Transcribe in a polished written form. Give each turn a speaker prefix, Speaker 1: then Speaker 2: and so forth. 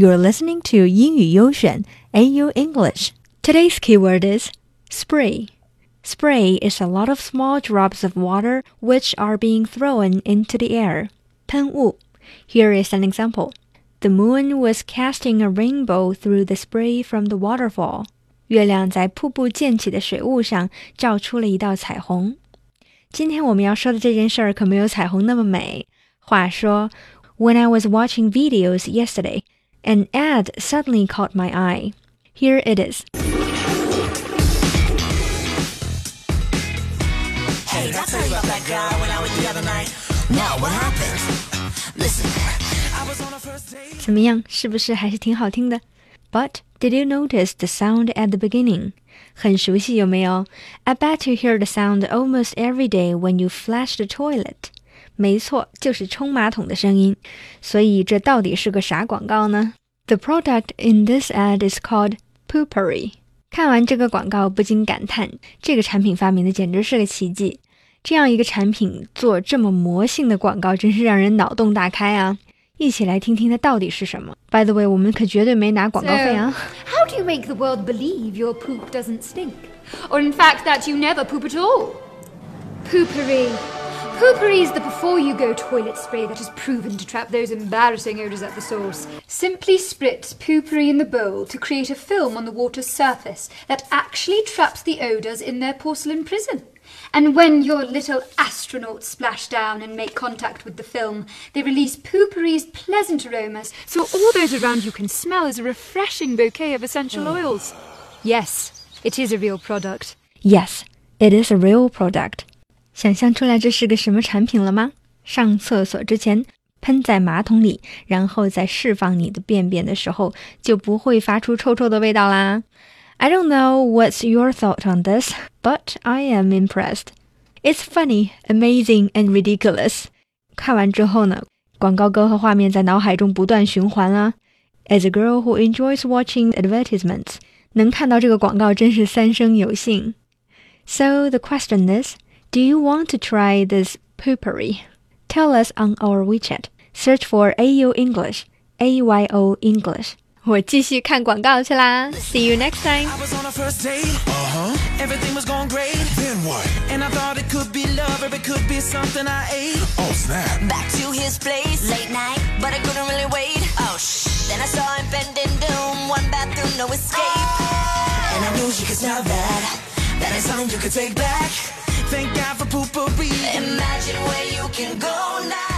Speaker 1: You're listening to 英语优选 AU English. Today's keyword is spray. Spray is a lot of small drops of water which are being thrown into the air. 喷雾. Here is an example. The moon was casting a rainbow through the spray from the waterfall. 月亮在瀑布溅起的水雾上照出了一道彩虹。今天我们要说的这件事儿可没有彩虹那么美。话说 When I was watching videos yesterday, an ad suddenly caught my eye. Here it is.
Speaker 2: Hey, I'll tell you about that guy when I was the other night. Now, what happened? Listen, I was on a first date.
Speaker 1: 怎么样，是不是还是挺好听的？ But did you notice the sound at the beginning? 很熟悉有没有？ I bet you hear the sound almost every day when you flush the toilet. 没错，就是冲马桶的声音。所以这到底是个啥广告呢？ The product in this ad is called Poopery. 看完这个广告不禁感叹，这个产品发明的简直是个奇迹。这样一个产品做这么魔性的广告，真是让人脑洞大开啊！一起来听听它到底是什么。By the way, 我们可绝对没拿广告费啊。
Speaker 3: So, how do you make the world believe your poop doesn't stink? Or in fact that you never poop at all? Poopery. Poopery is the before-you-go toilet spray that is proven to trap those embarrassing odours at the source. Simply spritz Poopery in the bowl to create a film on the water's surface that actually traps the odours in their porcelain prison. And when your little astronauts splash down and make contact with the film, they release Poopery's pleasant aromas, so all those around you can smell as a refreshing bouquet of essential oils. Yes, it is a real product.
Speaker 1: Yes, it is a real product. 想象出来这是个什么产品了吗？上厕所之前喷在马桶里，然后在释放你的便便的时候，就不会发出臭臭的味道啦。I don't know what's your thought on this, but I am impressed. It's funny, amazing, and ridiculous. 看完之后呢，广告歌和画面在脑海中不断循环啊。As a girl who enjoys watching advertisements, 能看到这个广告真是三生有幸。So the question is, do you want to try this Poopery? Tell us on our WeChat. Search for AU English, AYO English. 我继续看广告去啦 See you next time.
Speaker 2: I was on a first date. Everything was going great.
Speaker 4: Then what?
Speaker 2: And I thought it could be love, or it could be something I ate.
Speaker 4: Oh, snap.
Speaker 5: Back to his place, late night, but I couldn't really wait. Oh, Then I saw him bending doom, one bathroom, no escape.
Speaker 2: And I knew she could smell that. That is something you could take back. Thank God for Poopery.
Speaker 5: Imagine where you can go now.